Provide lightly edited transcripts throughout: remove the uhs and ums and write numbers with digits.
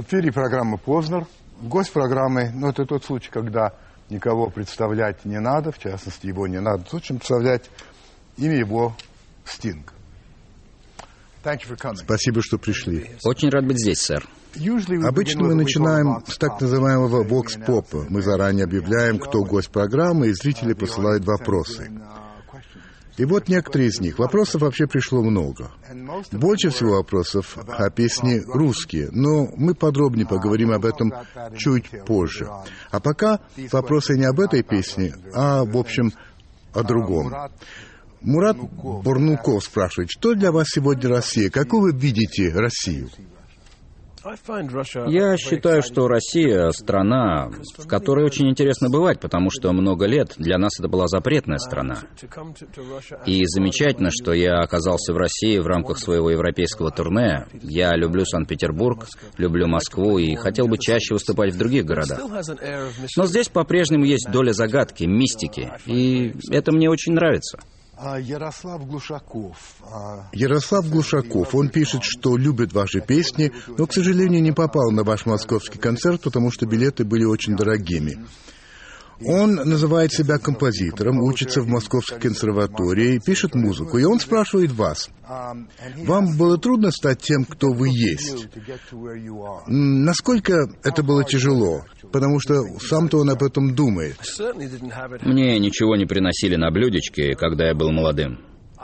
эфире программа «Познер». Гость программы, это тот случай, когда никого представлять не надо, в частности, его не надо. Зачем представлять? Имя его Стинг. Спасибо, что пришли. Очень рад быть здесь, сэр. Обычно мы начинаем с так называемого вокс-попа. Мы заранее объявляем, кто гость программы, и зрители посылают вопросы. И вот некоторые из них. Вопросов вообще пришло много. Больше всего вопросов о песне русские, но мы подробнее поговорим об этом чуть позже. А пока вопросы не об этой песне, а, в общем, о другом. Мурат Бурнуков спрашивает, что для вас сегодня Россия? Какую вы видите Россию? Я считаю, что Россия — страна, в которой очень интересно бывать, потому что много лет для нас это была запретная страна. И замечательно, что я оказался в России в рамках своего европейского турне. Я люблю Санкт-Петербург, люблю Москву и хотел бы чаще выступать в других городах. Но здесь по-прежнему есть доля загадки, мистики, и это мне очень нравится. Ярослав Глушаков, он пишет, что любит ваши песни, но, к сожалению, не попал на ваш московский концерт, потому что билеты были очень дорогими. Он называет себя композитором, учится в Московской консерватории, пишет музыку, и он спрашивает вас, вам было трудно стать тем, кто вы есть? Насколько это было тяжело? Потому что сам-то он об этом думает. Мне ничего не приносили на блюдечке, когда я был молодым.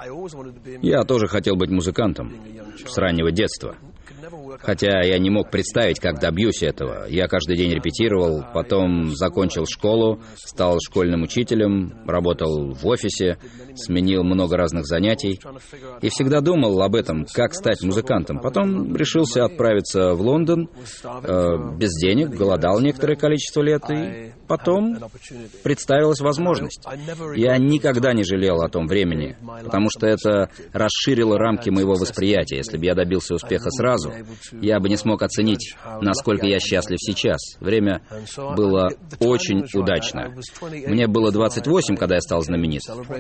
Я тоже хотел быть музыкантом с раннего детства. Хотя я не мог представить, как добьюсь этого. Я каждый день репетировал, потом закончил школу, стал школьным учителем, работал в офисе, сменил много разных занятий. И всегда думал об этом, как стать музыкантом. Потом решился отправиться в Лондон, без денег, голодал некоторое количество лет, и потом представилась возможность. Я никогда не жалел о том времени, потому что это расширило рамки моего восприятия. Если бы я добился успеха сразу, я бы не смог оценить, насколько я счастлив сейчас. Время было очень удачно. Мне было 28, когда я стал знаменит.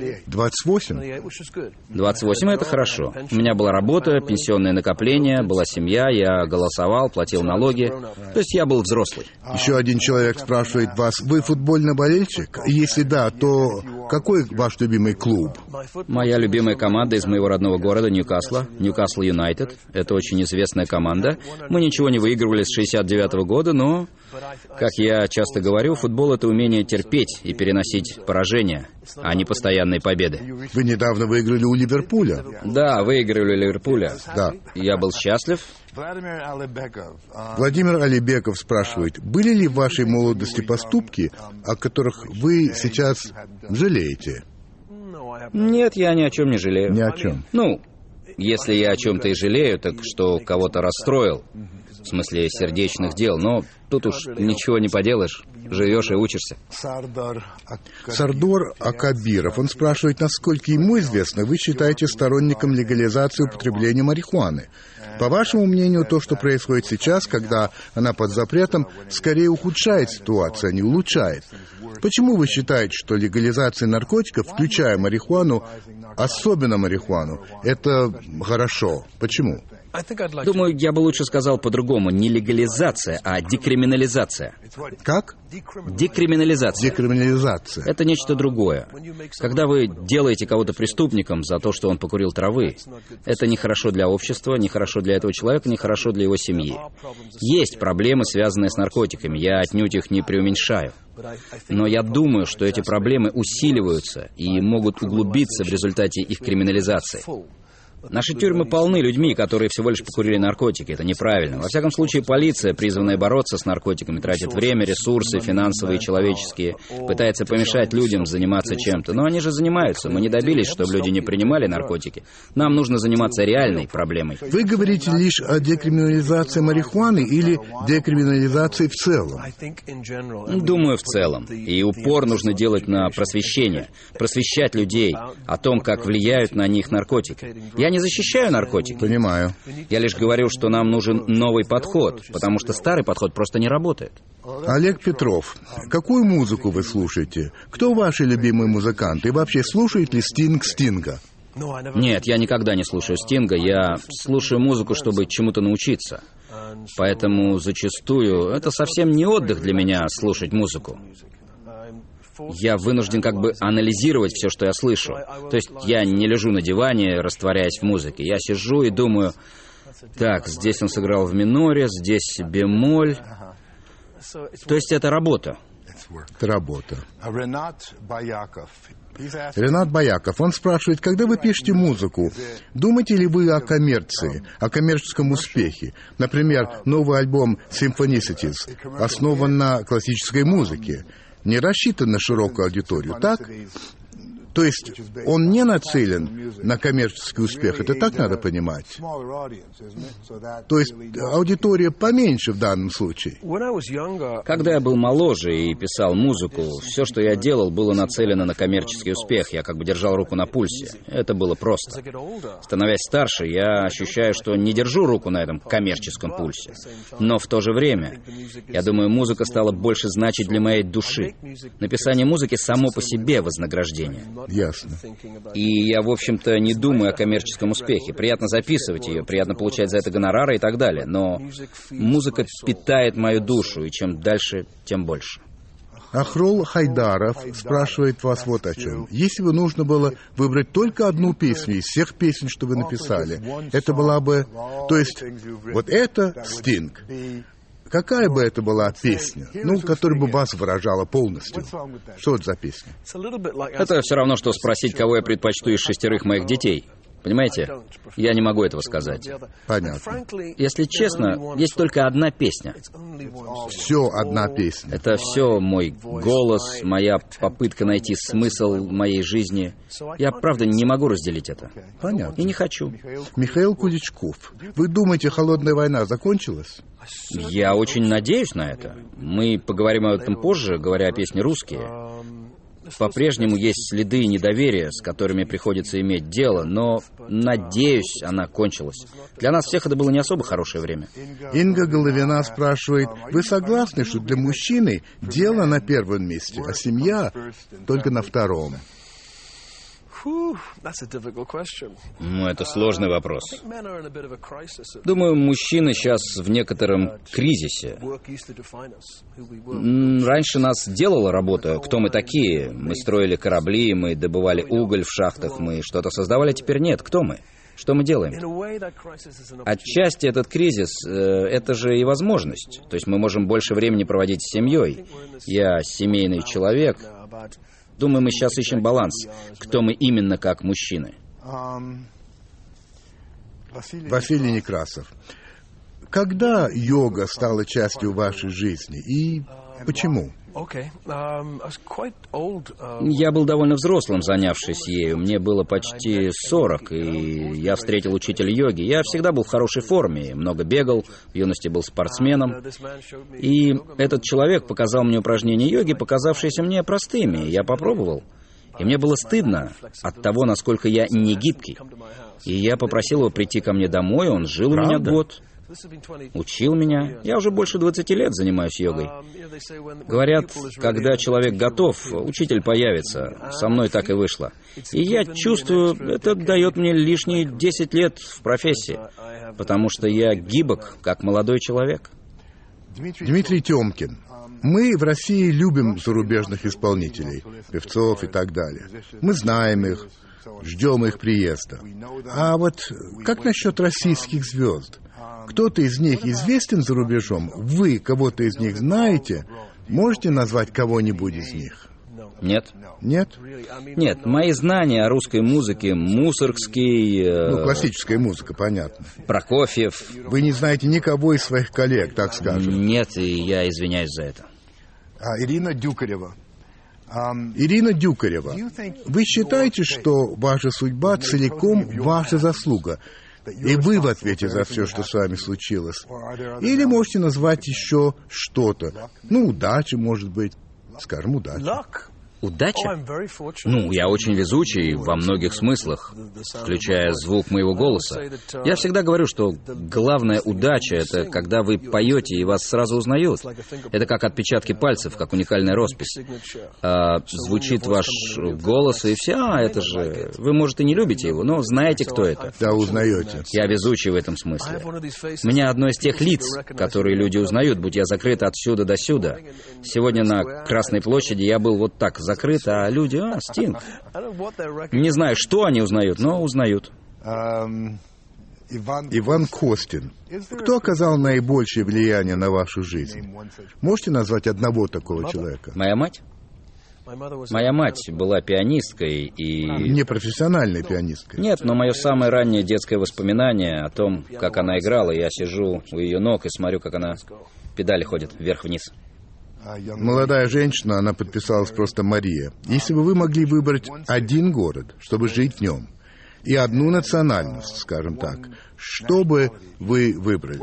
28? 28 — это хорошо. У меня была работа, пенсионное накопление, была семья, я голосовал, платил налоги. То есть я был взрослый. Еще один человек спрашивает вас, вы футбольный болельщик? Если да, то какой ваш любимый клуб? Моя любимая команда из моего родного города Ньюкасла, Ньюкасл Юнайтед. Это очень известная команда. Мы ничего не выигрывали с 69-го года, но, как я часто говорю, футбол — это умение терпеть и переносить поражения, а не постоянные победы. Вы недавно выиграли у Ливерпуля? Да, выиграли у Ливерпуля. Да. Я был счастлив. Владимир Алибеков спрашивает, были ли в вашей молодости поступки, о которых вы сейчас жалеете? Нет, я ни о чем не жалею. Ни о чем. Если я о чем-то и жалею, так что кого-то расстроил, в смысле сердечных дел, но тут уж ничего не поделаешь, живешь и учишься. Сардор Акабиров, он спрашивает, насколько ему известно, вы считаете сторонником легализации употребления марихуаны. По вашему мнению, то, что происходит сейчас, когда она под запретом, скорее ухудшает ситуацию, а не улучшает. Почему вы считаете, что легализация наркотиков, включая марихуану, особенно марихуану, это хорошо? Почему? Думаю, я бы лучше сказал по-другому. Не легализация, а декриминализация. Как? Декриминализация. Декриминализация. Это нечто другое. Когда вы делаете кого-то преступником за то, что он покурил травы, это нехорошо для общества, нехорошо для этого человека, нехорошо для его семьи. Есть проблемы, связанные с наркотиками. Я отнюдь их не преуменьшаю. Но я думаю, что эти проблемы усиливаются и могут углубиться в результате их криминализации. Наши тюрьмы полны людьми, которые всего лишь покурили наркотики. Это неправильно. Во всяком случае, полиция, призванная бороться с наркотиками, тратит время, ресурсы, финансовые и человеческие, пытается помешать людям заниматься чем-то. Но они же занимаются. Мы не добились, чтобы люди не принимали наркотики. Нам нужно заниматься реальной проблемой. Вы говорите лишь о декриминализации марихуаны или декриминализации в целом? Думаю, в целом. И упор нужно делать на просвещение. Просвещать людей о том, как влияют на них наркотики. Я не защищаю наркотики. Понимаю. Я лишь говорю, что нам нужен новый подход, потому что старый подход просто не работает. Олег Петров, какую музыку вы слушаете? Кто ваши любимые музыканты? И вообще, слушает ли Стинг Стинга? Нет, я никогда не слушаю Стинга. Я слушаю музыку, чтобы чему-то научиться. Поэтому зачастую это совсем не отдых для меня слушать музыку. Я вынужден как бы анализировать все, что я слышу. То есть я не лежу на диване, растворяясь в музыке. Я сижу и думаю, так, здесь он сыграл в миноре, здесь бемоль. То есть это работа. Это работа. Ренат Бояков, он спрашивает, когда вы пишете музыку, думаете ли вы о коммерции, о коммерческом успехе? Например, новый альбом Symphonicities основан на классической музыке, не рассчитан на широкую аудиторию, так? То есть он не нацелен на коммерческий успех, это так надо понимать? То есть аудитория поменьше в данном случае? Когда я был моложе и писал музыку, все, что я делал, было нацелено на коммерческий успех. Я как бы держал руку на пульсе. Это было просто. Становясь старше, я ощущаю, что не держу руку на этом коммерческом пульсе. Но в то же время, я думаю, музыка стала больше значить для моей души. Написание музыки само по себе вознаграждение. Ясно. И я, в общем-то, не думаю о коммерческом успехе. Приятно записывать ее, приятно получать за это гонорары и так далее. Но музыка питает мою душу, и чем дальше, тем больше. Ахрол Хайдаров спрашивает вас вот о чем. Если бы нужно было выбрать только одну песню из всех песен, что вы написали, это была бы... То есть, вот это Стинг. Какая бы это была песня, которая бы вас выражала полностью? Что это за песня? Это все равно, что спросить, кого я предпочту из 6 моих детей. Понимаете? Я не могу этого сказать. Понятно. Если честно, есть только одна песня. Все одна песня. Это все мой голос, моя попытка найти смысл моей жизни. Я, правда, не могу разделить это. Понятно. И не хочу. Михаил Кудичков, вы думаете, холодная война закончилась? Я очень надеюсь на это. Мы поговорим об этом позже, говоря о песне «Русские». По-прежнему есть следы недоверия, с которыми приходится иметь дело, но, надеюсь, она кончилась. Для нас всех это было не особо хорошее время. Инга Головина спрашивает, вы согласны, что для мужчины дело на первом месте, а семья только на втором? Это сложный вопрос. Думаю, мужчины сейчас в некотором кризисе. Раньше нас делала работа, кто мы такие. Мы строили корабли, мы добывали уголь в шахтах, мы что-то создавали, а теперь нет. Кто мы? Что мы делаем? Отчасти этот кризис — это же и возможность. То есть мы можем больше времени проводить с семьей. Я семейный человек. Думаю, мы сейчас ищем баланс, кто мы именно как мужчины. Василий Некрасов. Когда йога стала частью вашей жизни и почему? Я был довольно взрослым, занявшись ею. Мне было почти 40, и я встретил учителя йоги. Я всегда был в хорошей форме, много бегал, в юности был спортсменом. И этот человек показал мне упражнения йоги, показавшиеся мне простыми. Я попробовал. И мне было стыдно от того, насколько я не гибкий. И я попросил его прийти ко мне домой, он жил у меня год. Учил меня. Я уже больше 20 лет занимаюсь йогой. Говорят, когда человек готов, учитель появится. Со мной так и вышло. И я чувствую, это дает мне лишние 10 лет в профессии, потому что я гибок, как молодой человек. Дмитрий Тёмкин. Мы в России любим зарубежных исполнителей, певцов и так далее. Мы знаем их, ждем их приезда. А вот как насчет российских звезд? Кто-то из них известен за рубежом? Вы кого-то из них знаете? Можете назвать кого-нибудь из них? Нет. Нет? Нет, мои знания о русской музыке, Мусоргский... классическая музыка, понятно. Прокофьев. Вы не знаете никого из своих коллег, так скажем? Нет, и я извиняюсь за это. Ирина Дюкарева. Ирина Дюкарева, вы считаете, что ваша судьба целиком ваша заслуга? И вы в ответе за все, что с вами случилось? Или можете назвать еще что-то? Удача, может быть. Скажем, удача. Удача? Ну, я очень везучий во многих смыслах, включая звук моего голоса. Я всегда говорю, что главная удача — это когда вы поете и вас сразу узнают. Это как отпечатки пальцев, как уникальная роспись. Звучит ваш голос, и все, это же... Вы, может, и не любите его, но знаете, кто это. Да, узнаете. Я везучий в этом смысле. У меня одно из тех лиц, которые люди узнают, будь я закрыт отсюда до сюда. Сегодня на Красной площади я был вот так закрыт, а люди, Стинг. Не знаю, что они узнают, но узнают. Иван Костин. Кто оказал наибольшее влияние на вашу жизнь? Можете назвать одного такого человека? Моя мать? Моя мать была пианисткой и... Не профессиональной пианисткой? Нет, но мое самое раннее детское воспоминание о том, как она играла, я сижу у ее ног и смотрю, как она педали ходит вверх-вниз. Молодая женщина, она подписалась просто Мария. Если бы вы могли выбрать один город, чтобы жить в нем, и одну национальность, скажем так, что бы вы выбрали?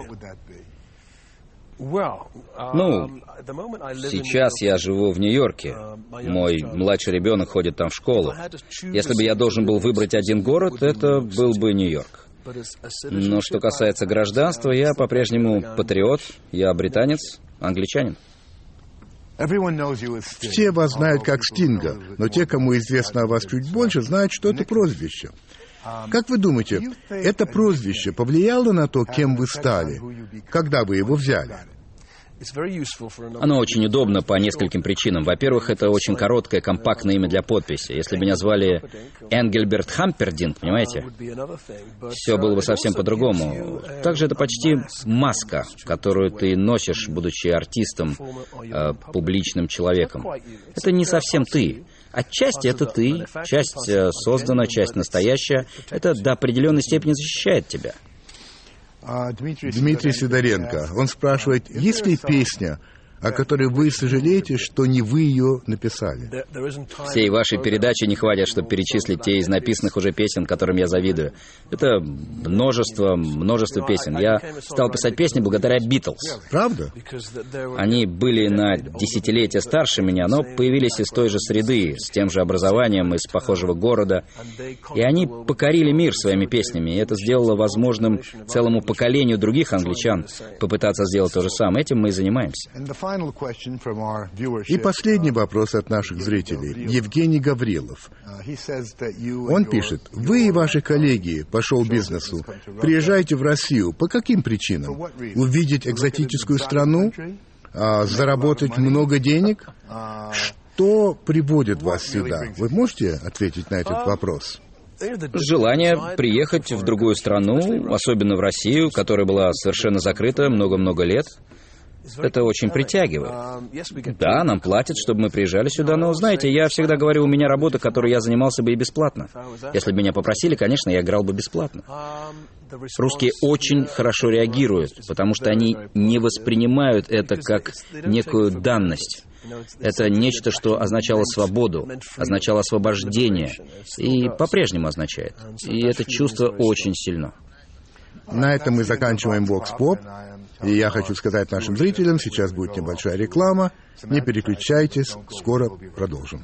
Ну, сейчас я живу в Нью-Йорке. Мой младший ребенок ходит там в школу. Если бы я должен был выбрать один город, это был бы Нью-Йорк. Но что касается гражданства, я по-прежнему патриот, я британец, англичанин. Все вас знают как Стинга, но те, кому известно о вас чуть больше, знают, что это прозвище. Как вы думаете, это прозвище повлияло на то, кем вы стали, когда вы его взяли? Оно очень удобно по нескольким причинам. Во-первых, это очень короткое, компактное имя для подписи. Если бы меня звали Энгельберт Хампердинг, понимаете, все было бы совсем по-другому. Также это почти маска, которую ты носишь, будучи артистом, публичным человеком. Это не совсем ты. Отчасти это ты, часть создана, часть настоящая. Это до определенной степени защищает тебя. Дмитрий Сидоренко, он спрашивает, есть ли песня, о которой вы сожалеете, что не вы ее написали? Всей вашей передачи не хватит, чтобы перечислить те из написанных уже песен, которым я завидую. Это множество песен. Я стал писать песни благодаря Битлз. Правда? Они были на десятилетия старше меня, но появились из той же среды, с тем же образованием, из похожего города. И они покорили мир своими песнями, и это сделало возможным целому поколению других англичан попытаться сделать то же самое. Этим мы и занимаемся. И последний вопрос от наших зрителей. Евгений Гаврилов. Он пишет, вы и ваши коллеги по шоу-бизнесу приезжаете в Россию. По каким причинам? Увидеть экзотическую страну? Заработать много денег? Что приводит вас сюда? Вы можете ответить на этот вопрос? Желание приехать в другую страну, особенно в Россию, которая была совершенно закрыта много-много лет. Это очень притягивает. Да, нам платят, чтобы мы приезжали сюда, но, знаете, я всегда говорю, у меня работа, которой я занимался бы и бесплатно. Если бы меня попросили, конечно, я играл бы бесплатно. Русские очень хорошо реагируют, потому что они не воспринимают это как некую данность. Это нечто, что означало свободу, означало освобождение, и по-прежнему означает. И это чувство очень сильно. На этом мы заканчиваем Vox Pop. И я хочу сказать нашим зрителям, сейчас будет небольшая реклама. Не переключайтесь, скоро продолжим.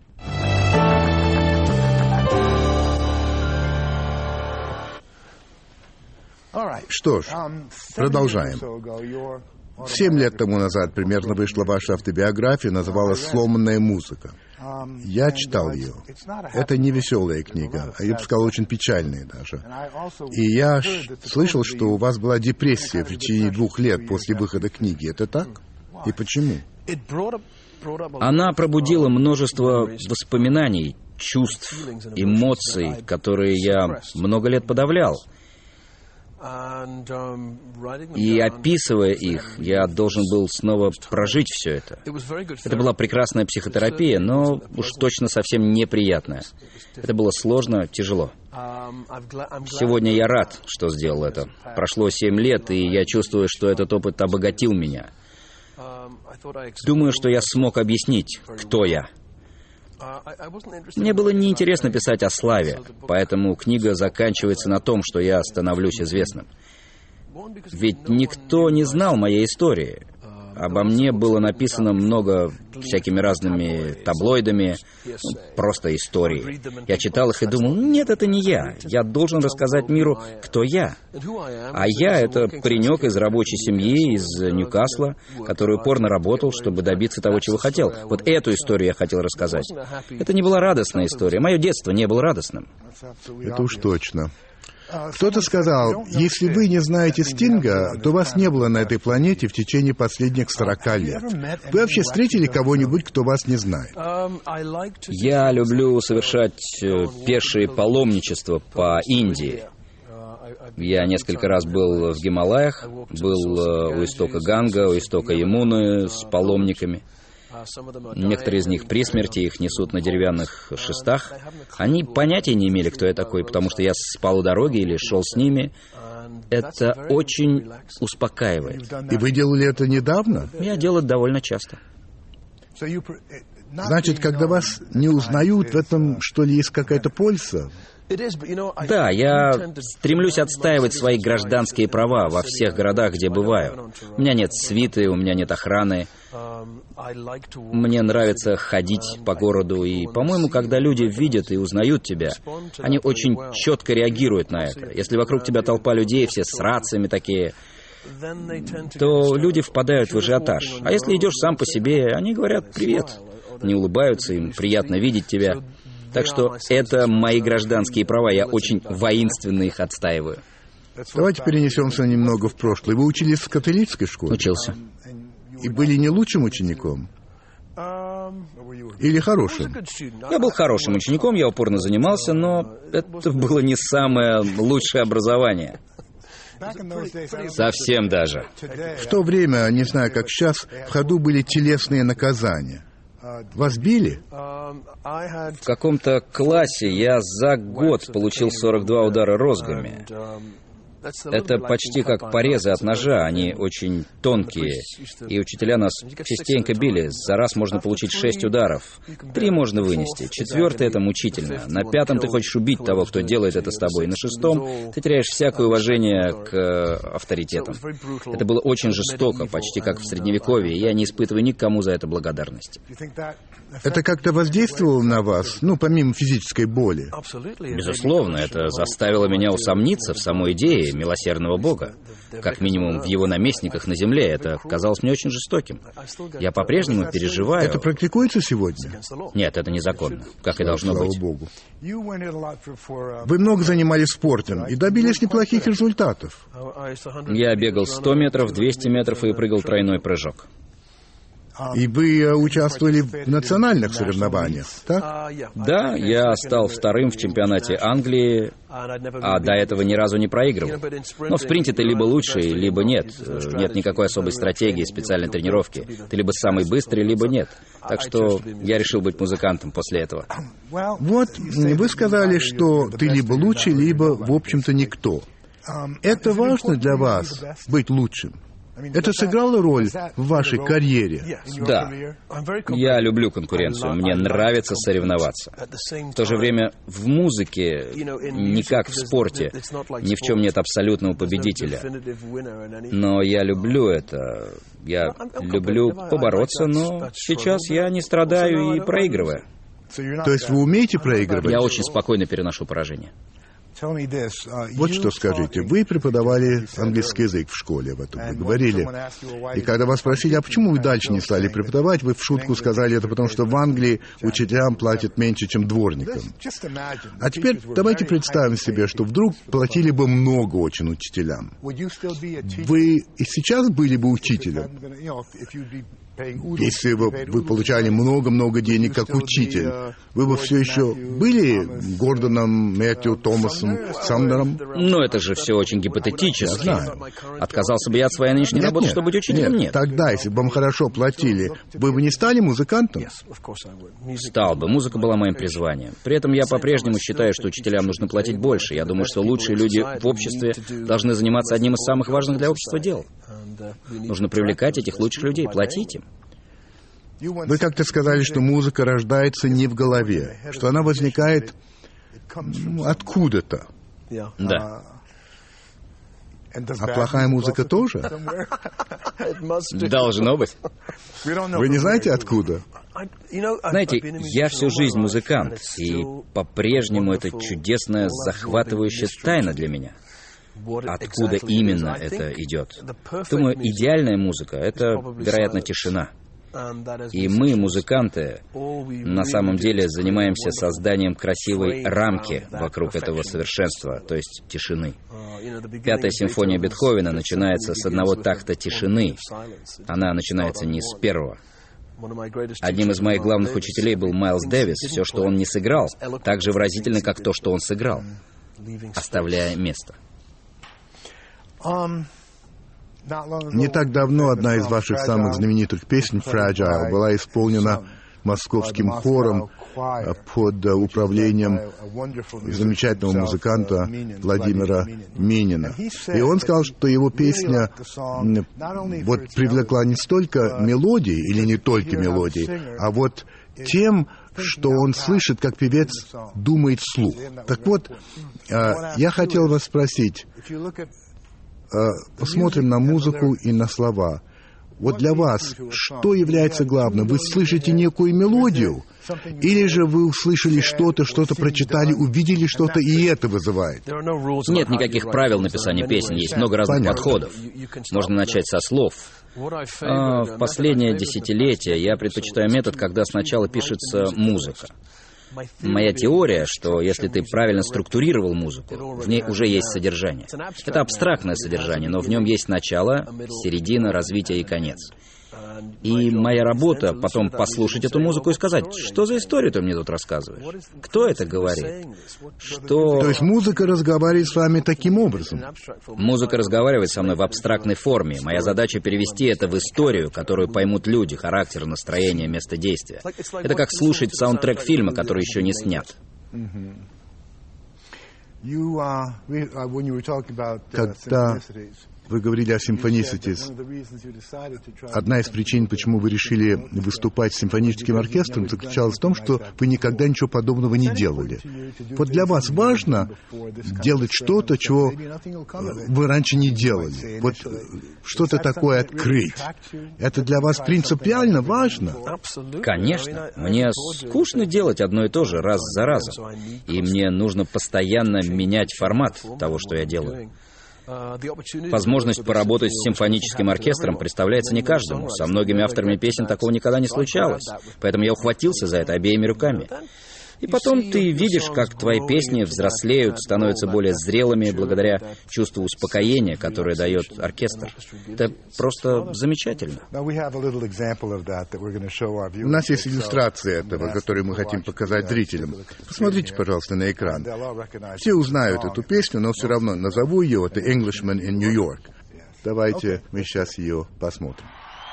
Что ж, продолжаем. 7 лет тому назад примерно вышла ваша автобиография, называлась «Сломанная музыка». Я читал ее. Это не веселая книга, а я бы сказал, очень печальная даже. И я слышал, что у вас была депрессия в течение 2 лет после выхода книги. Это так? И почему? Она пробудила множество воспоминаний, чувств, эмоций, которые я много лет подавлял. И описывая их, я должен был снова прожить все это. Это была прекрасная психотерапия, но уж точно совсем неприятная. Это было сложно, тяжело. Сегодня я рад, что сделал это. Прошло 7 лет, и я чувствую, что этот опыт обогатил меня. Думаю, что я смог объяснить, кто я. Мне было неинтересно писать о славе, поэтому книга заканчивается на том, что я становлюсь известным. Ведь никто не знал моей истории. Обо мне было написано много всякими разными таблоидами, просто истории. Я читал их и думал, нет, это не я. Я должен рассказать миру, кто я. А я — это паренек из рабочей семьи, из Ньюкасла, который упорно работал, чтобы добиться того, чего хотел. Вот эту историю я хотел рассказать. Это не была радостная история. Мое детство не было радостным. Это уж точно. Кто-то сказал, если вы не знаете Стинга, то вас не было на этой планете в течение последних 40 лет. Вы вообще встретили кого-нибудь, кто вас не знает? Я люблю совершать пешие паломничества по Индии. Я несколько раз был в Гималаях, был у истока Ганга, у истока Ямуны с паломниками. Некоторые из них при смерти, их несут на деревянных шестах. Они понятия не имели, кто я такой, потому что я спал у дороги или шел с ними. Это очень успокаивает. И вы делали это недавно? Я делаю это довольно часто. Значит, когда вас не узнают, в этом, что ли, есть какая-то польза? Да, я стремлюсь отстаивать свои гражданские права во всех городах, где бываю. У меня нет свиты, у меня нет охраны. Мне нравится ходить по городу, и, по-моему, когда люди видят и узнают тебя, они очень четко реагируют на это. Если вокруг тебя толпа людей, все с рациями такие, то люди впадают в ажиотаж. А если идешь сам по себе, они говорят «привет», они улыбаются, им приятно видеть тебя. Так что это мои гражданские права, я очень воинственно их отстаиваю. Давайте перенесемся немного в прошлое. Вы учились в католической школе? Учился. И были не лучшим учеником? Или хорошим? Я был хорошим учеником, я упорно занимался, но это было не самое лучшее образование. Совсем даже. В то время, не знаю, как сейчас, в ходу были телесные наказания. Вас били? В каком-то классе я за год получил 42 удара розгами. Это почти как порезы от ножа, они очень тонкие. И учителя нас частенько били. За раз можно получить 6 ударов. 3 можно вынести. 4 — это мучительно. На 5 ты хочешь убить того, кто делает это с тобой. На 6 ты теряешь всякое уважение к авторитетам. Это было очень жестоко, почти как в Средневековье, и я не испытываю никому за это благодарности. Это как-то воздействовало на вас, помимо физической боли? Безусловно, это заставило меня усомниться в самой идее милосердного Бога. Как минимум в его наместниках на земле. Это казалось мне очень жестоким. Я по-прежнему переживаю... Это практикуется сегодня? Нет, это незаконно, как и должно быть. Слава Богу. Вы много занимались спортом и добились неплохих результатов. Я бегал 100 метров, 200 метров и прыгал тройной прыжок. И вы участвовали в национальных соревнованиях, так? Да, я стал вторым в чемпионате Англии, а до этого ни разу не проигрывал. Но в спринте ты либо лучший, либо нет. Нет никакой особой стратегии, специальной тренировки. Ты либо самый быстрый, либо нет. Так что я решил быть музыкантом после этого. Вот, вы сказали, что ты либо лучший, либо, в общем-то, никто. Это важно для вас, быть лучшим? Это сыграло роль в вашей карьере? Да. Я люблю конкуренцию. Мне нравится соревноваться. В то же время в музыке, не как в спорте, ни в чем нет абсолютного победителя. Но я люблю это. Я люблю побороться, но сейчас я не страдаю и проигрываю. То есть вы умеете проигрывать? Я очень спокойно переношу поражение. Вот что скажите. Вы преподавали английский язык в школе, об этом вы говорили. И когда вас спросили, а почему вы дальше не стали преподавать, вы в шутку сказали, это потому что в Англии учителям платят меньше, чем дворникам. А теперь давайте представим себе, что вдруг платили бы много очень учителям. Вы и сейчас были бы учителем? Если бы вы получали много-много денег как учитель, вы бы все еще были Гордоном, Мэтью, Томасом, Сандером? Но это же все очень гипотетически. Отказался бы я от своей нынешней работы, чтобы быть учителем? Нет. Тогда, если бы вам хорошо платили, вы бы не стали музыкантом? Стал бы. Музыка была моим призванием. При этом я по-прежнему считаю, что учителям нужно платить больше. Я думаю, что лучшие люди в обществе должны заниматься одним из самых важных для общества дел. Нужно привлекать этих лучших людей, платить им. Вы как-то сказали, что музыка рождается не в голове, что она возникает откуда-то. Да. А плохая музыка тоже? Должно быть. Вы не знаете, откуда? Знаете, я всю жизнь музыкант, и по-прежнему это чудесная, захватывающая тайна для меня. Откуда именно это идет? Думаю, идеальная музыка — это, вероятно, тишина. И мы, музыканты, на самом деле занимаемся созданием красивой рамки вокруг этого совершенства, то есть тишины. Пятая симфония Бетховена начинается с одного такта тишины. Она начинается не с первого. Одним из моих главных учителей был Майлз Дэвис. Все, что он не сыграл, так же выразительно, как то, что он сыграл, оставляя место. Не так давно одна из ваших самых знаменитых песен, «Fragile», была исполнена московским хором под управлением замечательного музыканта Владимира Минина. И он сказал, что его песня привлекла не столько мелодией, или не только мелодией, а тем, что он слышит, как певец думает вслух. Так вот, я хотел вас спросить, посмотрим на музыку и на слова. Для вас что является главным? Вы слышите некую мелодию? Или же вы услышали что-то прочитали, увидели что-то, и это вызывает? Нет никаких правил написания песен, есть много разных подходов. Можно начать со слов. В последнее десятилетие я предпочитаю метод, когда сначала пишется музыка. Моя теория, что если ты правильно структурировал музыку, в ней уже есть содержание. Это абстрактное содержание, но в нем есть начало, середина, развитие и конец. И моя работа потом послушать эту музыку и сказать, что за историю ты мне тут рассказываешь? Кто это говорит? Что... То есть музыка разговаривает с вами таким образом? Музыка разговаривает со мной в абстрактной форме. Моя задача перевести это в историю, которую поймут люди, характер, настроение, место действия. Это как слушать саундтрек фильма, который еще не снят. Когда вы говорили о симфониситис, одна из причин, почему вы решили выступать с симфоническим оркестром, заключалась в том, что вы никогда ничего подобного не делали. Для вас важно делать что-то, чего вы раньше не делали. Что-то такое открыть. Это для вас принципиально важно? Конечно. Мне скучно делать одно и то же раз за разом. И мне нужно постоянно менять формат того, что я делаю. Возможность поработать с симфоническим оркестром представляется не каждому. Со многими авторами песен такого никогда не случалось. Поэтому я ухватился за это обеими руками. И потом ты видишь, как твои песни взрослеют, становятся более зрелыми благодаря чувству успокоения, которое дает оркестр. Это просто замечательно. У нас есть иллюстрация этого, которую мы хотим показать зрителям. Посмотрите, пожалуйста, на экран. Все узнают эту песню, но все равно назову ее. Это «Englishman in New York». Давайте мы сейчас ее посмотрим.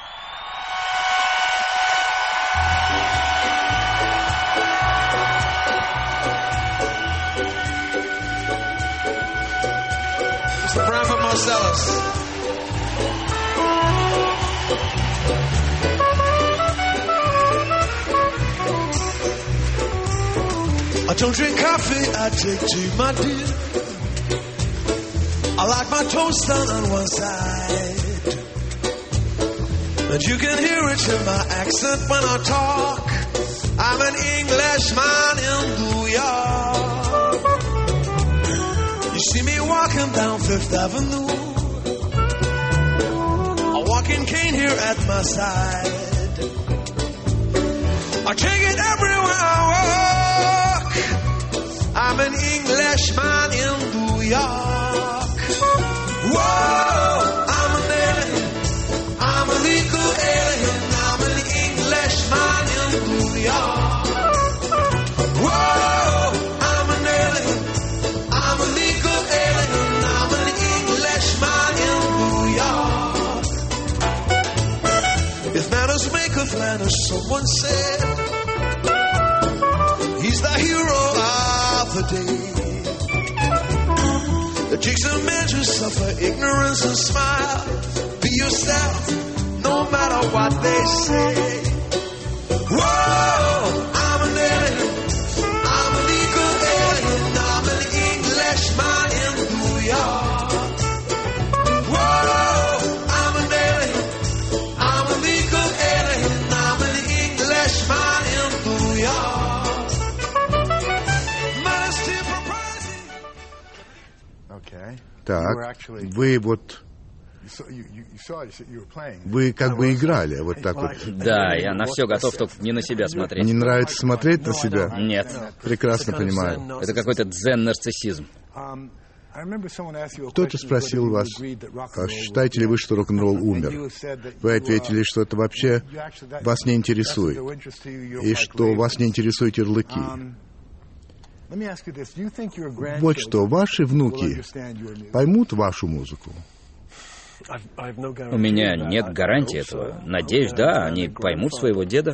I don't drink coffee, I take tea, my dear. I like my toast done on one side, and you can hear it in my accent when I talk. I'm an Englishman in New York. You see me walking down Fifth Avenue, a walking cane here at my side. I take it everywhere I walk. I'm an Englishman in New York. Whoa, I'm an alien. I'm a legal alien. I'm an Englishman in New York. Whoa, I'm an alien. I'm a legal alien. I'm an Englishman in New York. If manners make of manners, someone said, he's the hero of the day. The chicks and men who suffer ignorance and smile. Be yourself, no matter what they say. Whoa, I'm an alien. I'm a legal alien. I'm an Englishman in New York. Так, вы вот... Вы как бы играли, вот так вот. Да, я на все готов, только не на себя смотреть. Не нравится смотреть на себя? Нет. Прекрасно понимаю. Это какой-то дзен-нарциссизм. Кто-то спросил вас, а считаете ли вы, что рок-н-ролл умер? Вы ответили, что это вообще вас не интересует, и что вас не интересуют ярлыки. Вот что, ваши внуки поймут вашу музыку? У меня нет гарантии этого. Надеюсь, да, они поймут своего деда.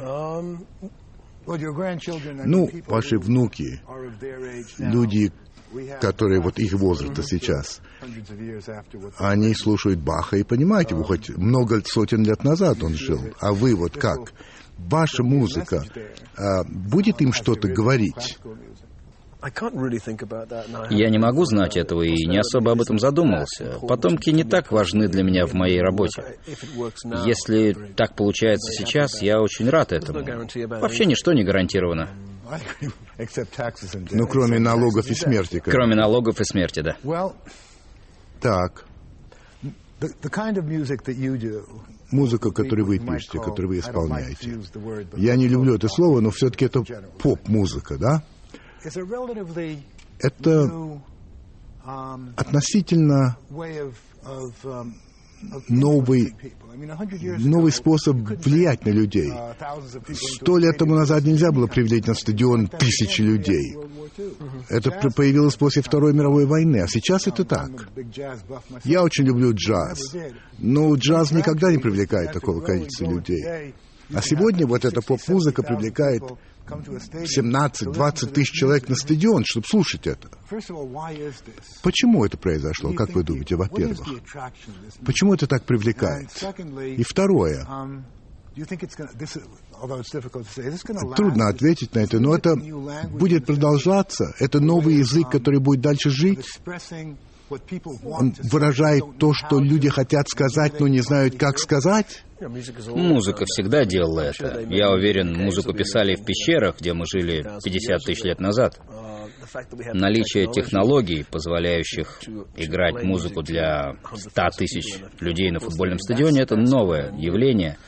Ну, ваши внуки, люди, которые вот их возраста сейчас, они слушают Баха и понимаете, вы хоть много сотен лет назад он жил, а вы вот как? Ваша музыка будет им что-то говорить? Я не могу знать этого и не особо об этом задумывался. Потомки не так важны для меня в моей работе. Если так получается сейчас, я очень рад этому. Вообще ничто не гарантировано. Ну, кроме налогов и смерти. Кроме налогов и смерти, да. Так. Музыка, которую вы пишете, которую вы исполняете. Я не люблю это слово, но все-таки это поп-музыка, да? Это относительно новый способ влиять на людей. 100 лет тому назад нельзя было привлечь на стадион тысячи людей. Это появилось после Второй мировой войны, а сейчас это так. Я очень люблю джаз, но джаз никогда не привлекает такого количества людей. А сегодня вот эта поп-музыка привлекает 17-20 тысяч человек на стадион, чтобы слушать это. Почему это произошло, как вы думаете, во-первых? Почему это так привлекает? И второе. Трудно ответить на это, но это будет продолжаться. Это новый язык, который будет дальше жить. Он выражает то, что люди хотят сказать, но не знают, как сказать. Музыка всегда делала это. Я уверен, музыку писали в пещерах, где мы жили 50 тысяч лет назад. Наличие технологий, позволяющих играть музыку для 100 тысяч людей на футбольном стадионе, это новое явление.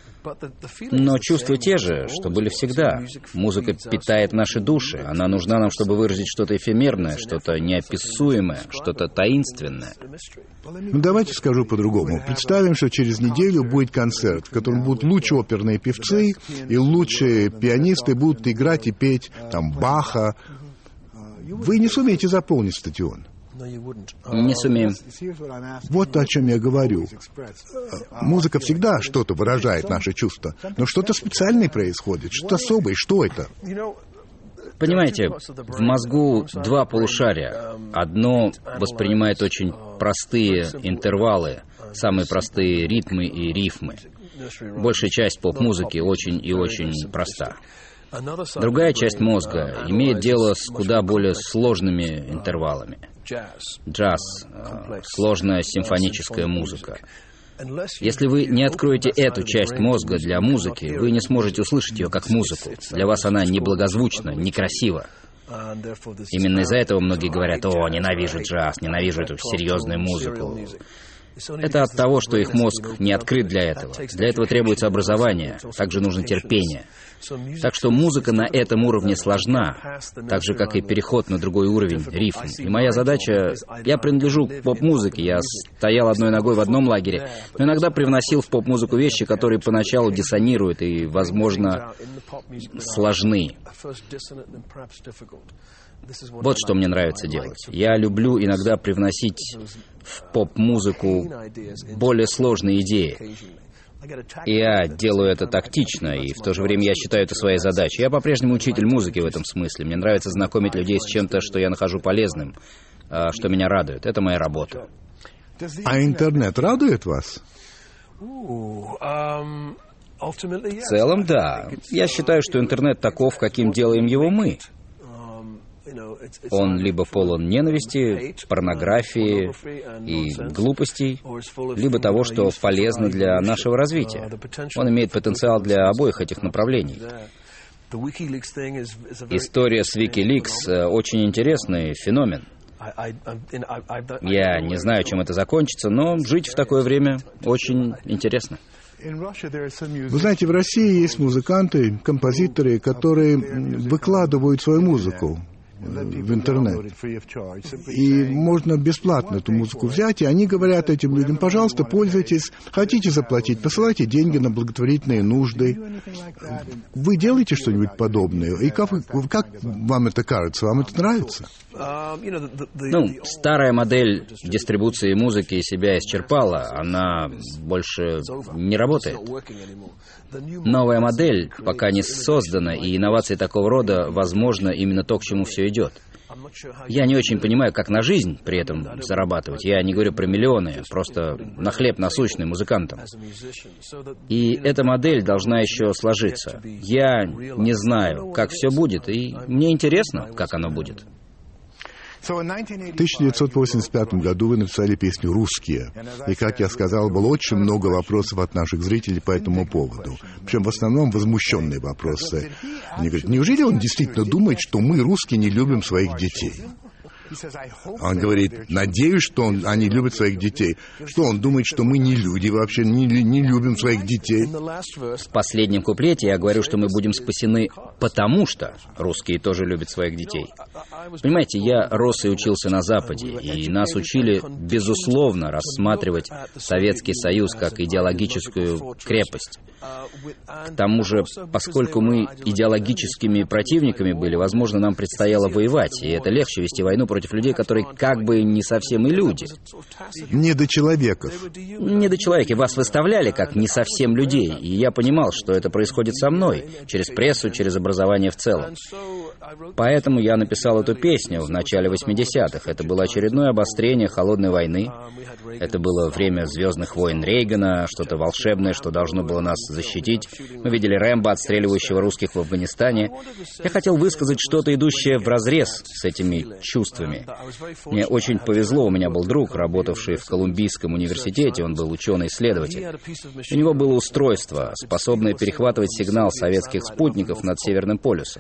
Но чувства те же, что были всегда. Музыка питает наши души. Она нужна нам, чтобы выразить что-то эфемерное, что-то неописуемое, что-то таинственное. Ну, давайте скажу по-другому. Представим, что через неделю будет концерт, в котором будут лучшие оперные певцы и лучшие пианисты будут играть и петь там Баха. Вы не сумеете заполнить стадион. Не сумеем. Вот о чем я говорю. Музыка всегда что-то выражает наши чувства, но что-то специальное происходит, что-то особое. Что это? Понимаете, в мозгу два полушария. Одно воспринимает очень простые интервалы, самые простые ритмы и рифмы. Большая часть поп-музыки очень и очень проста. Другая часть мозга имеет дело с куда более сложными интервалами. Джаз, сложная симфоническая музыка. Если вы не откроете эту часть мозга для музыки, вы не сможете услышать ее как музыку. Для вас она неблагозвучна, некрасива. Именно из-за этого многие говорят: «О, ненавижу джаз, ненавижу эту серьезную музыку». Это от того, что их мозг не открыт для этого. Для этого требуется образование, также нужно терпение. Так что музыка на этом уровне сложна, так же, как и переход на другой уровень, рифм. И моя задача... Я принадлежу к поп-музыке, я стоял одной ногой в одном лагере, но иногда привносил в поп-музыку вещи, которые поначалу диссонируют и, возможно, сложны. Вот что мне нравится делать. Я люблю иногда привносить в поп-музыку более сложные идеи. И я делаю это тактично, и в то же время я считаю это своей задачей. Я по-прежнему учитель музыки в этом смысле. Мне нравится знакомить людей с чем-то, что я нахожу полезным, что меня радует. Это моя работа. А интернет радует вас? В целом, да. Я считаю, что интернет таков, каким делаем его мы. Он либо полон ненависти, порнографии и глупостей, либо того, что полезно для нашего развития. Он имеет потенциал для обоих этих направлений. История с WikiLeaks очень интересный феномен. Я не знаю, чем это закончится, но жить в такое время очень интересно. Вы знаете, в России есть музыканты, композиторы, которые выкладывают свою музыку в интернет. И можно бесплатно эту музыку взять, и они говорят этим людям: пожалуйста, пользуйтесь, хотите заплатить, посылайте деньги на благотворительные нужды. Вы делаете что-нибудь подобное? И как вам это кажется? Вам это нравится? Старая модель дистрибуции музыки себя исчерпала, она больше не работает. Новая модель пока не создана, и инновации такого рода, возможно, именно то, к чему все идет. Я не очень понимаю, как на жизнь при этом зарабатывать. Я не говорю про миллионы, просто на хлеб насущный музыкантам. И эта модель должна еще сложиться. Я не знаю, как все будет, и мне интересно, как оно будет. В 1985 году вы написали песню «Русские». И, как я сказал, было очень много вопросов от наших зрителей по этому поводу. Причем в основном возмущенные вопросы. Они говорят: неужели он действительно думает, что мы, русские, не любим своих детей? Он говорит: надеюсь, что они любят своих детей. Что он думает, что мы не люди вообще, не любим своих детей? В последнем куплете я говорю, что мы будем спасены, потому что русские тоже любят своих детей. Понимаете, я рос и учился на Западе, и нас учили, безусловно, рассматривать Советский Союз как идеологическую крепость. К тому же, поскольку мы идеологическими противниками были, возможно, нам предстояло воевать, и это легче вести войну против людей, которые как бы не совсем и люди. Недочеловеков. Недочеловеки. Вас выставляли как не совсем людей, и я понимал, что это происходит со мной, через прессу, через образование в целом. Поэтому я написал эту песню в начале 80-х. Это было очередное обострение холодной войны. Это было время «Звездных войн» Рейгана, что-то волшебное, что должно было нас защитить. Мы видели Рэмбо, отстреливающего русских в Афганистане. Я хотел высказать что-то, идущее вразрез с этими чувствами. Мне очень повезло, у меня был друг, работавший в Колумбийском университете, он был ученый-исследователь. У него было устройство, способное перехватывать сигнал советских спутников над Северным полюсом.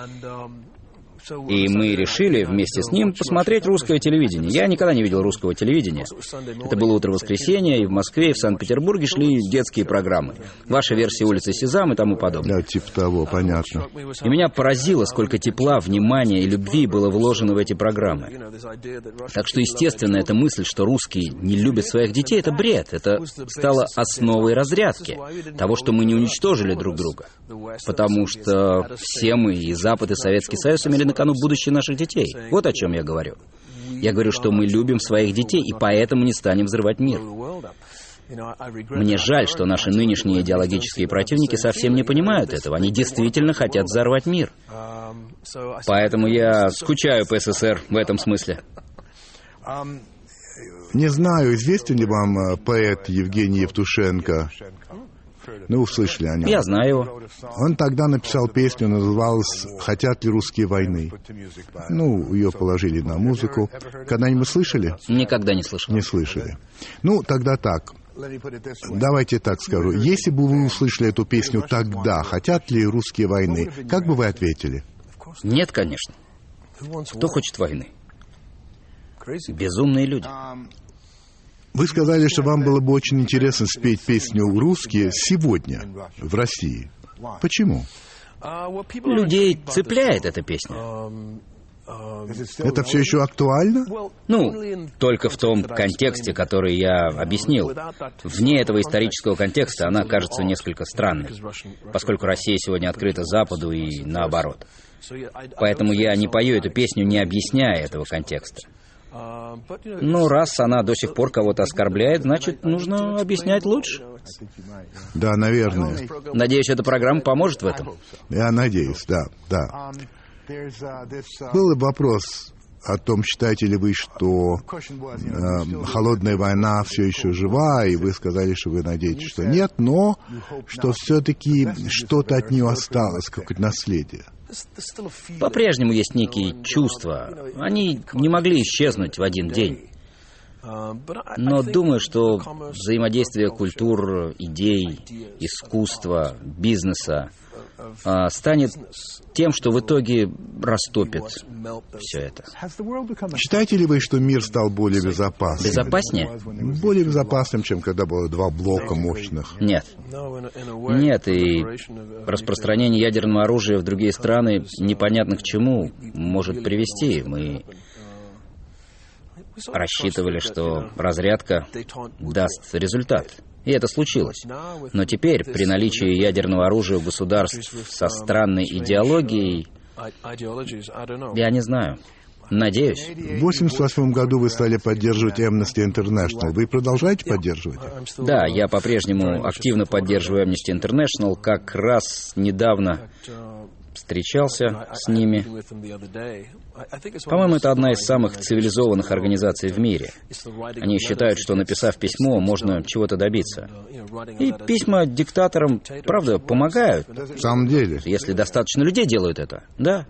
И мы решили вместе с ним посмотреть русское телевидение. Я никогда не видел русского телевидения. Это было утро воскресенья, и в Москве, и в Санкт-Петербурге шли детские программы. Ваша версия «Улицы Сезам» и тому подобное. Да, типа того, понятно. И меня поразило, сколько тепла, внимания и любви было вложено в эти программы. Так что, естественно, эта мысль, что русские не любят своих детей, это бред. Это стало основой разрядки того, что мы не уничтожили друг друга. Потому что все мы, и Запад, и Советский Союз, имели на кону будущее наших детей. Вот о чем я говорю. Я говорю, что мы любим своих детей, и поэтому не станем взрывать мир. Мне жаль, что наши нынешние идеологические противники совсем не понимают этого. Они действительно хотят взорвать мир. Поэтому я скучаю по СССР в этом смысле. Не знаю, известен ли вам поэт Евгений Евтушенко? Ну, услышали о нем. Я знаю его. Он тогда написал песню, называлась «Хотят ли русские войны?». Ну, ее положили на музыку. Когда-нибудь слышали? Никогда не слышал. Не слышали. Ну, тогда так. Давайте так скажу. Если бы вы услышали эту песню тогда, хотят ли русские войны, как бы вы ответили? Нет, конечно. Кто хочет войны? Безумные люди. Вы сказали, что вам было бы очень интересно спеть песню «Русские» сегодня в России. Почему? Людей цепляет эта песня. Это все еще актуально? Ну, только в том контексте, который я объяснил. Вне этого исторического контекста она кажется несколько странной, поскольку Россия сегодня открыта Западу и наоборот. Поэтому я не пою эту песню, не объясняя этого контекста. Но раз она до сих пор кого-то оскорбляет, значит, нужно объяснять лучше. Да, наверное. Надеюсь, эта программа поможет в этом. Я надеюсь, да. Был вопрос о том, считаете ли вы, что холодная война все еще жива, и вы сказали, что вы надеетесь, что нет, но что все-таки что-то от нее осталось, какое-то наследие. По-прежнему есть некие чувства. Они не могли исчезнуть в один день. Но думаю, что взаимодействие культур, идей, искусства, бизнеса станет тем, что в итоге растопит все это. Считаете ли вы, что мир стал более безопасным? Безопаснее? Более безопасным, чем когда было два блока мощных? Нет. Нет, и распространение ядерного оружия в другие страны непонятно к чему может привести. Мы рассчитывали, что разрядка даст результат. И это случилось. Но теперь, при наличии ядерного оружия у государств со странной идеологией, я не знаю. Надеюсь. В 1988 году вы стали поддерживать Amnesty International. Вы продолжаете поддерживать? Да, я по-прежнему активно поддерживаю Amnesty International. Как раз недавно встречался с ними. По-моему, это одна из самых цивилизованных организаций в мире. Они считают, что, написав письмо, можно чего-то добиться. И письма диктаторам, правда, помогают. В самом деле? Если достаточно людей делают это, да.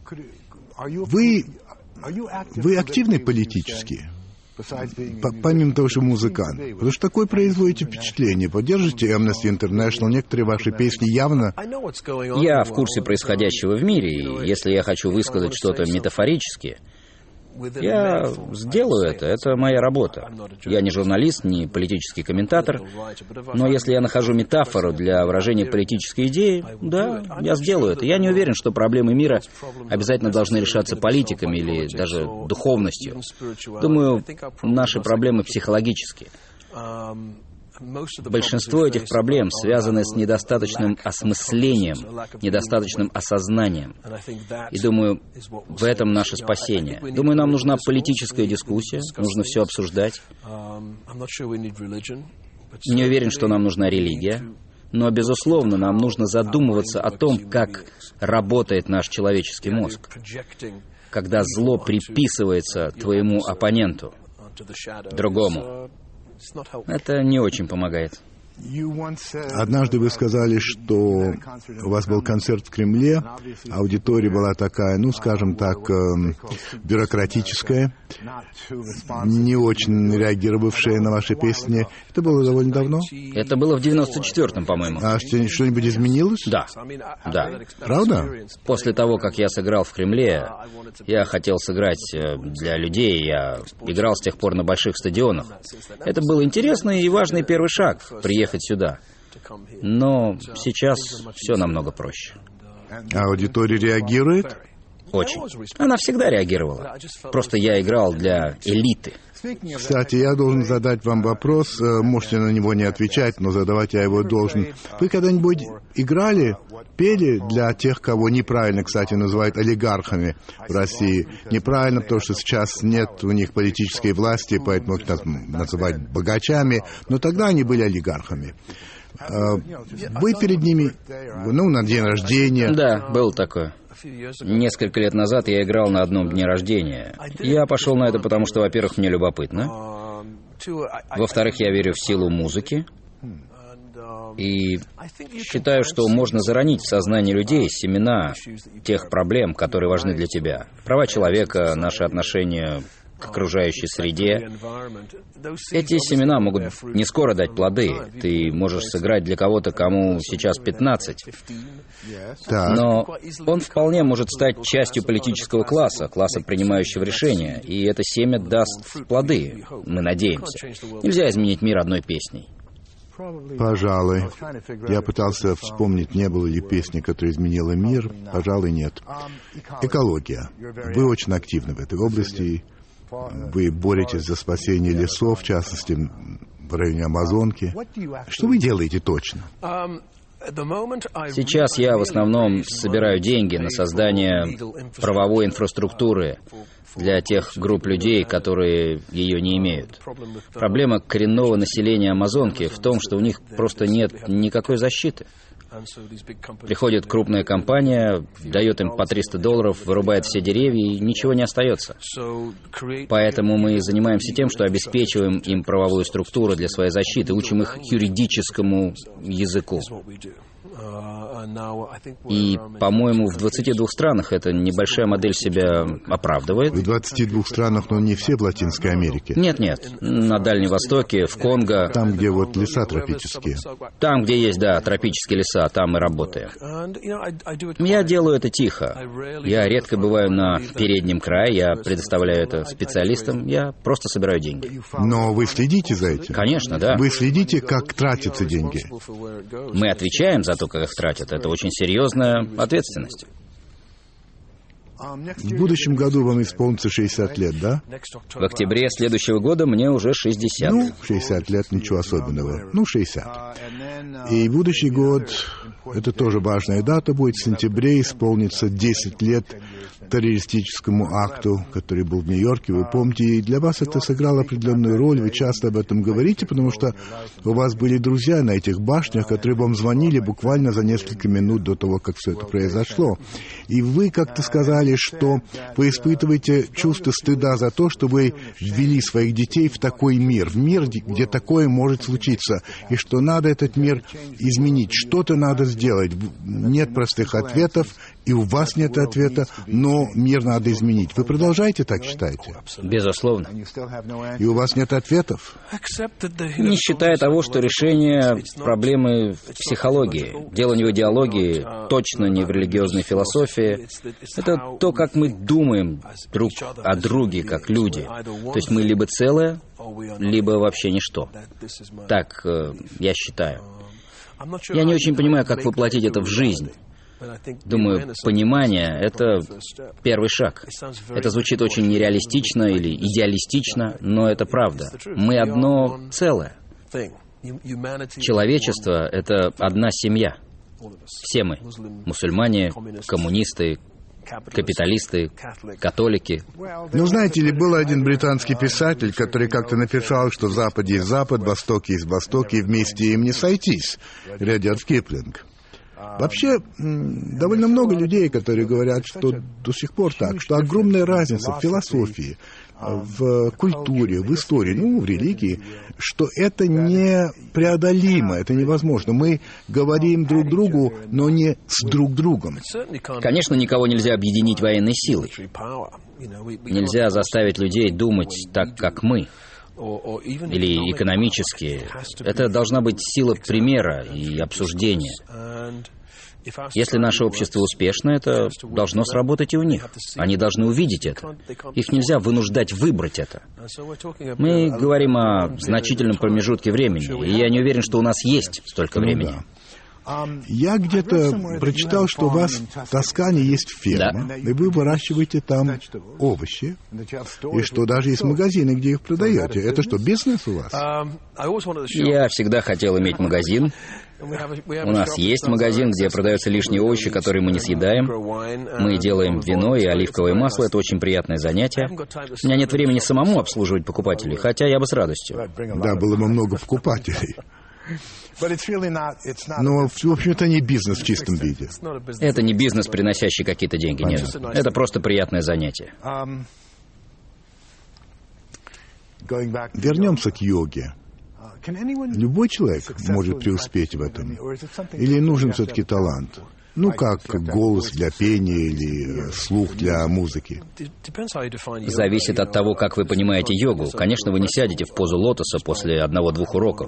Вы активны политически? Помимо того, что музыкант. Потому что такое производите впечатление. Поддержите Amnesty International, некоторые ваши песни явно... Я в курсе происходящего в мире, и если я хочу высказать что-то метафорически, я сделаю это. Это моя работа. Я не журналист, не политический комментатор, но если я нахожу метафору для выражения политической идеи, да, я сделаю это. Я не уверен, что проблемы мира обязательно должны решаться политиками или даже духовностью. Думаю, наши проблемы психологические. Большинство этих проблем связаны с недостаточным осмыслением, недостаточным осознанием. И думаю, в этом наше спасение. Думаю, нам нужна политическая дискуссия, нужно все обсуждать. Не уверен, что нам нужна религия, но, безусловно, нам нужно задумываться о том, как работает наш человеческий мозг, когда зло приписывается твоему оппоненту, другому. Это не очень помогает. Однажды вы сказали, что у вас был концерт в Кремле, аудитория была такая, ну, скажем так, бюрократическая, не очень реагировавшая на ваши песни. Это было довольно давно? Это было в 94-м, по-моему. А что-нибудь изменилось? Да. Да. Правда? После того, как я сыграл в Кремле, я хотел сыграть для людей, я играл с тех пор на больших стадионах. Это был интересный и важный первый шаг — приехать сюда. Но сейчас все намного проще. А аудитория реагирует? Очень. Она всегда реагировала. Просто я играл для элиты. Кстати, я должен задать вам вопрос, можете на него не отвечать, но задавать я его должен. Вы когда-нибудь играли, пели для тех, кого неправильно, кстати, называют олигархами в России? Неправильно, потому что сейчас нет у них политической власти, поэтому их называют богачами, но тогда они были олигархами. Вы перед ними, на день рождения... Да, было такое. Несколько лет назад я играл на одном дне рождения. Я пошел на это, потому что, во-первых, мне любопытно. Во-вторых, я верю в силу музыки. И считаю, что можно заронить в сознание людей семена тех проблем, которые важны для тебя. Права человека, наши отношения к окружающей среде. Эти семена могут не скоро дать плоды. Ты можешь сыграть для кого-то, кому сейчас 15. Но он вполне может стать частью политического класса, принимающего решения. И это семя даст плоды, мы надеемся. Нельзя изменить мир одной песней. Пожалуй. Я пытался вспомнить, не было ли песни, которая изменила мир. Пожалуй, нет. Экология. Вы очень активны в этой области. Вы боретесь за спасение лесов, в частности, в районе Амазонки. Что вы делаете точно? Сейчас я в основном собираю деньги на создание правовой инфраструктуры для тех групп людей, которые ее не имеют. Проблема коренного населения Амазонки в том, что у них просто нет никакой защиты. Приходит крупная компания, дает им по $300, вырубает все деревья, и ничего не остается. Поэтому мы занимаемся тем, что обеспечиваем им правовую структуру для своей защиты, учим их юридическому языку. И, по-моему, в 22 странах эта небольшая модель себя оправдывает. В 22 странах, но не все в Латинской Америке. Нет. На Дальнем Востоке, в Конго. Там, где вот леса тропические. Там, где есть, да, тропические леса, там мы работаем. Я делаю это тихо. Я редко бываю на переднем крае, я предоставляю это специалистам, я просто собираю деньги. Но вы следите за этим? Конечно, да. Вы следите, как тратятся деньги? Мы отвечаем за то, как их тратят. Это очень серьезная ответственность. В будущем году вам исполнится 60 лет, да? В октябре следующего года мне уже 60. 60 лет, ничего особенного. 60. И будущий год, это тоже важная дата будет, в сентябре исполнится 10 лет террористическому акту, который был в Нью-Йорке. Вы помните, и для вас это сыграло определенную роль, вы часто об этом говорите, потому что у вас были друзья на этих башнях, которые вам звонили буквально за несколько минут до того, как все это произошло. И вы как-то сказали, что вы испытываете чувство стыда за то, что вы ввели своих детей в такой мир, в мир, где такое может случиться, и что надо этот мир изменить, что-то надо сделать. Нет простых ответов, и у вас нет ответа, но мир надо изменить. Вы продолжаете так считаете? Безусловно. И у вас нет ответов? Не считая того, что решение проблемы в психологии. Дело не в идеологии, точно не в религиозной философии. Это то, как мы думаем друг о друге, как люди. То есть мы либо целое, либо вообще ничто. Так я считаю. Я не очень понимаю, как воплотить это в жизнь. Думаю, понимание — это первый шаг. Это звучит очень нереалистично или идеалистично, но это правда. Мы одно целое. Человечество — это одна семья. Все мы. Мусульмане, коммунисты, капиталисты, католики. Ну, знаете ли, был один британский писатель, который как-то написал, что в Западе есть Запад, в Востоке есть Восток, и вместе им не сойтись. Рядят Киплинг. Вообще, довольно много людей, которые говорят, что до сих пор так, что огромная разница в философии, в культуре, в истории, в религии, что это непреодолимо, это невозможно. Мы говорим друг другу, но не с друг другом. Конечно, никого нельзя объединить военной силой. Нельзя заставить людей думать так, как мы. Или экономически. Это должна быть сила примера и обсуждения. Если наше общество успешно, это должно сработать и у них. Они должны увидеть это. Их нельзя вынуждать выбрать это. Мы говорим о значительном промежутке времени, и я не уверен, что у нас есть столько времени. Я где-то прочитал, что у вас в Тоскане есть ферма, да, и вы выращиваете там овощи, и что даже есть магазины, где их продаете. Это что, бизнес у вас? Я всегда хотел иметь магазин. У нас есть магазин, где продаются лишние овощи, которые мы не съедаем. Мы делаем вино и оливковое масло. Это очень приятное занятие. У меня нет времени самому обслуживать покупателей, хотя я бы с радостью. Да, было бы много покупателей. Но, в общем-то, не бизнес в чистом виде. Это не бизнес, приносящий какие-то деньги, нет. Это просто приятное занятие. Вернемся к йоге. Любой человек может преуспеть в этом? Или нужен все-таки талант? Как голос для пения или слух для музыки. Зависит от того, как вы понимаете йогу. Конечно, вы не сядете в позу лотоса после 1-2 уроков.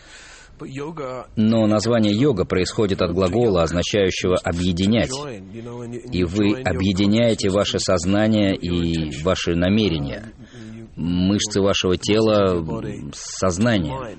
Но название йога происходит от глагола, означающего «объединять». И вы объединяете ваше сознание и ваши намерения, мышцы вашего тела с сознанием.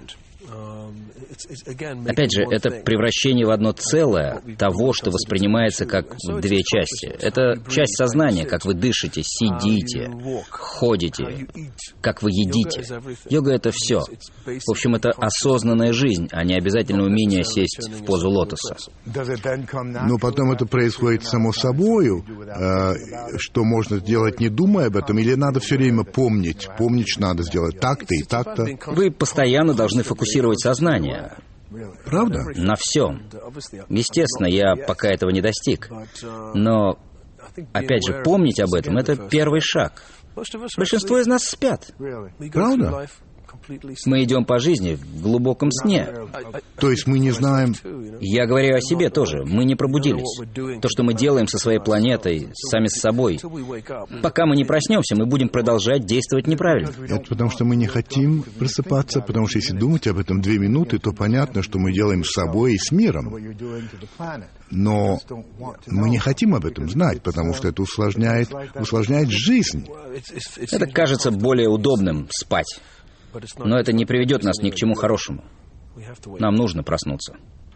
Опять же, это превращение в одно целое того, что воспринимается как две части. Это часть сознания, как вы дышите, сидите, ходите, как вы едите. Йога — это все. В общем, это осознанная жизнь, а не обязательно умение сесть в позу лотоса. Но потом это происходит само собою, что можно сделать, не думая об этом, или надо все время помнить, что надо сделать так-то и так-то? Вы постоянно должны фокусировать сознание. Правда? На всем. Естественно, я пока этого не достиг. Но, опять же, помнить об этом — это первый шаг. Большинство из нас спят. Правда? Мы идем по жизни в глубоком сне. То есть мы не знаем... Я говорю о себе тоже. Мы не пробудились. То, что мы делаем со своей планетой, сами с собой. Пока мы не проснемся, мы будем продолжать действовать неправильно. Это потому, что мы не хотим просыпаться, потому что если думать об этом 2 минуты, то понятно, что мы делаем с собой и с миром. Но мы не хотим об этом знать, потому что это усложняет жизнь. Это кажется более удобным — спать. Но это не приведет нас ни к чему хорошему. Нам нужно проснуться.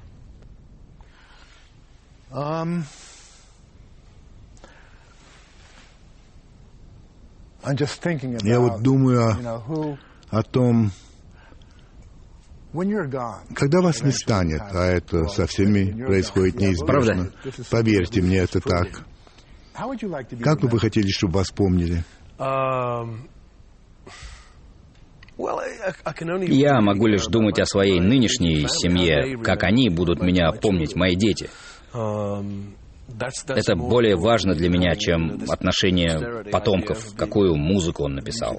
Я вот думаю о том, когда вас не станет, а это со всеми происходит неизбежно. Правда? Поверьте мне, это так. Как бы вы хотели, чтобы вас помнили? Я могу лишь думать о своей нынешней семье, как они будут меня помнить, мои дети. Это более важно для меня, чем отношение потомков, какую музыку он написал.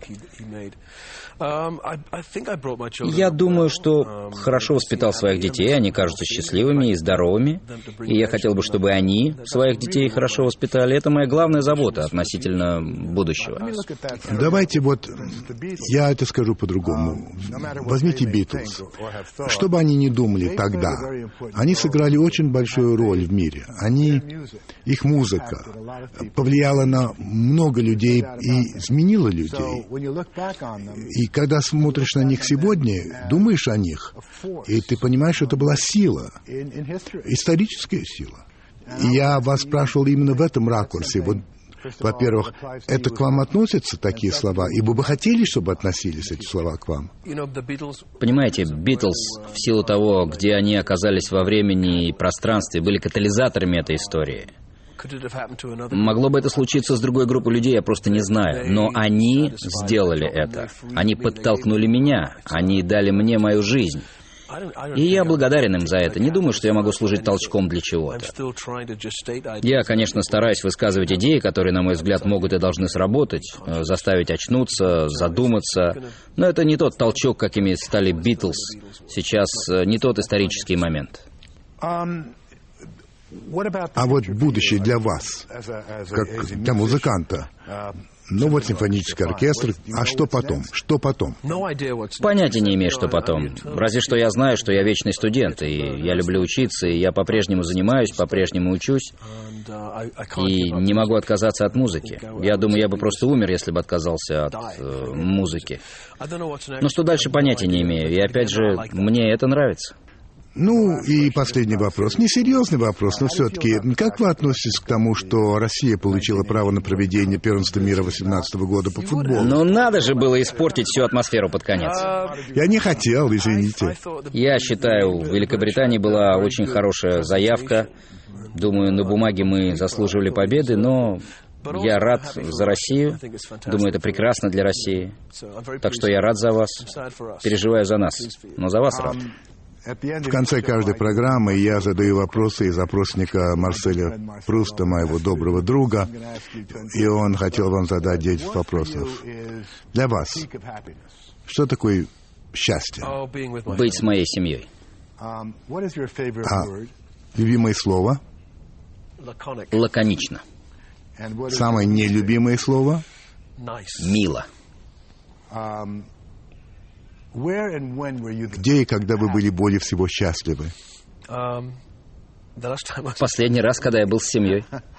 Я думаю, что хорошо воспитал своих детей, они кажутся счастливыми и здоровыми, и я хотел бы, чтобы они своих детей хорошо воспитали. Это моя главная забота относительно будущего. Давайте вот, я это скажу по-другому. Возьмите Битлз. Что бы они ни думали тогда, они сыграли очень большую роль в мире. Их музыка повлияла на много людей и изменила людей. И когда смотришь на них сегодня, думаешь о них, и ты понимаешь, что это была сила, историческая сила. И я вас спрашивал именно в этом ракурсе. Вот, во-первых, это к вам относятся такие слова, и вы бы хотели, чтобы относились эти слова к вам? Понимаете, Битлз, в силу того, где они оказались во времени и пространстве, были катализаторами этой истории. Могло бы это случиться с другой группой людей, я просто не знаю. Но они сделали это. Они подтолкнули меня. Они дали мне мою жизнь. И я благодарен им за это. Не думаю, что я могу служить толчком для чего-то. Я, конечно, стараюсь высказывать идеи, которые, на мой взгляд, могут и должны сработать, заставить очнуться, задуматься. Но это не тот толчок, какими стали Битлз. Сейчас не тот исторический момент. А вот будущее для вас, как для музыканта, ну вот симфонический оркестр, а что потом? Что потом? Понятия не имею, что потом. Разве что я знаю, что я вечный студент, и я люблю учиться, и я по-прежнему занимаюсь, по-прежнему учусь, и не могу отказаться от музыки. Я думаю, я бы просто умер, если бы отказался от музыки. Но что дальше, понятия не имею, и опять же, мне это нравится. Ну, и последний вопрос. Несерьезный вопрос, но все-таки, как вы относитесь к тому, что Россия получила право на проведение первенства мира 2018 года по футболу? Ну, надо же было испортить всю атмосферу под конец. Я не хотел, извините. Я считаю, в Великобритании была очень хорошая заявка. Думаю, на бумаге мы заслуживали победы, но я рад за Россию. Думаю, это прекрасно для России. Так что я рад за вас. Переживаю за нас, но за вас рад. В конце каждой программы я задаю вопросы из опросника Марселя Пруста, моего доброго друга, и он хотел вам задать 10 вопросов. Для вас, что такое счастье? Быть с моей семьей. Любимое слово? Лаконично. Самое нелюбимое слово? Мило. Где и когда вы были более всего счастливы? Последний раз, когда я был с семьей.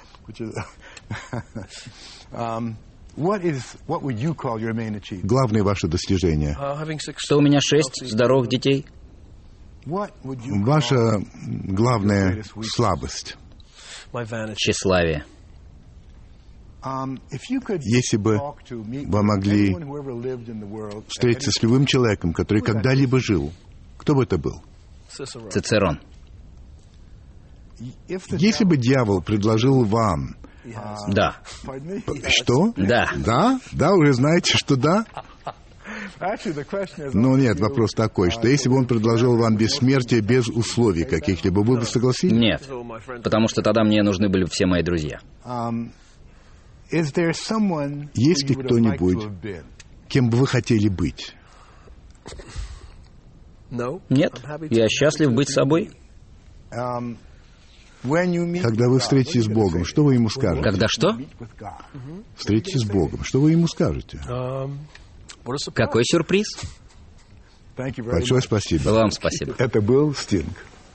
Главное ваше достижение? Что у меня 6 здоровых детей. Ваша главная слабость? Тщеславие. Если бы вы могли встретиться с любым человеком, который когда-либо жил, кто бы это был? Цицерон. Если бы дьявол предложил вам... Да. Что? Да. Да? Да, уже знаете, что да? Ну нет, вопрос такой, что если бы он предложил вам бессмертие без условий каких-либо, вы бы согласились? Нет, потому что тогда мне нужны были все мои друзья. Есть ли кто-нибудь, кем бы вы хотели быть? Нет, я счастлив быть собой. Когда вы встретитесь с Богом, что вы ему скажете? Когда что? Встретитесь с Богом, что вы ему скажете? Какой сюрприз? Большое спасибо. Вам спасибо. Это был Стинг.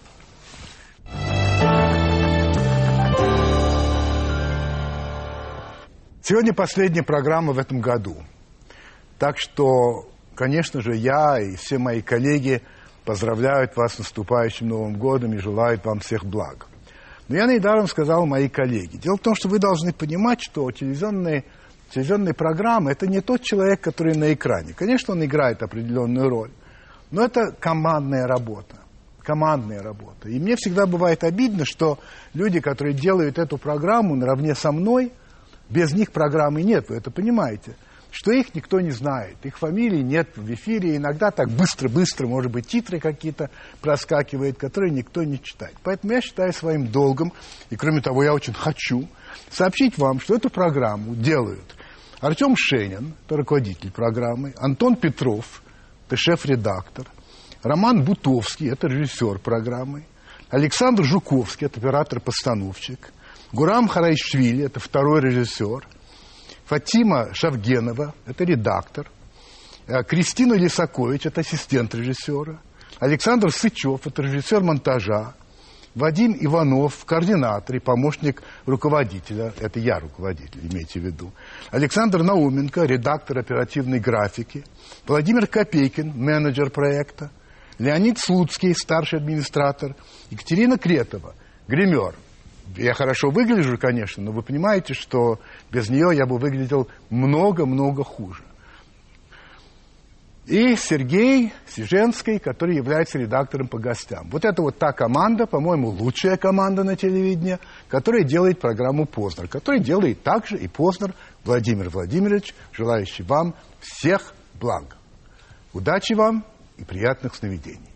Сегодня последняя программа в этом году. Так что, конечно же, я и все мои коллеги поздравляют вас с наступающим Новым годом и желают вам всех благ. Но я недаром сказал мои коллеги. Дело в том, что вы должны понимать, что телевизионные программы – это не тот человек, который на экране. Конечно, он играет определенную роль, но это командная работа. Командная работа. И мне всегда бывает обидно, что люди, которые делают эту программу наравне со мной, без них программы нет, вы это понимаете, что их никто не знает, их фамилий нет в эфире, иногда так быстро-быстро, может быть, титры какие-то проскакивают, которые никто не читает. Поэтому я считаю своим долгом, и кроме того, я очень хочу сообщить вам, что эту программу делают Артем Шенин, это руководитель программы, Антон Петров, это шеф-редактор, Роман Бутовский, это режиссер программы, Александр Жуковский, это оператор-постановщик, Гурам Харайшвили, это второй режиссер, Фатима Шавгенова, это редактор, Кристина Лисакович, это ассистент режиссера, Александр Сычев, это режиссер монтажа, Вадим Иванов, координатор и помощник руководителя, это я руководитель, имейте в виду, Александр Науменко, редактор оперативной графики, Владимир Копейкин, менеджер проекта, Леонид Слуцкий, старший администратор, Екатерина Кретова, гример. Я хорошо выгляжу, конечно, но вы понимаете, что без нее я бы выглядел много-много хуже. И Сергей Сиженский, который является редактором по гостям. Вот это вот та команда, по-моему, лучшая команда на телевидении, которая делает программу «Познер», которая делает также и Познер Владимир Владимирович, желающий вам всех благ. Удачи вам и приятных сновидений.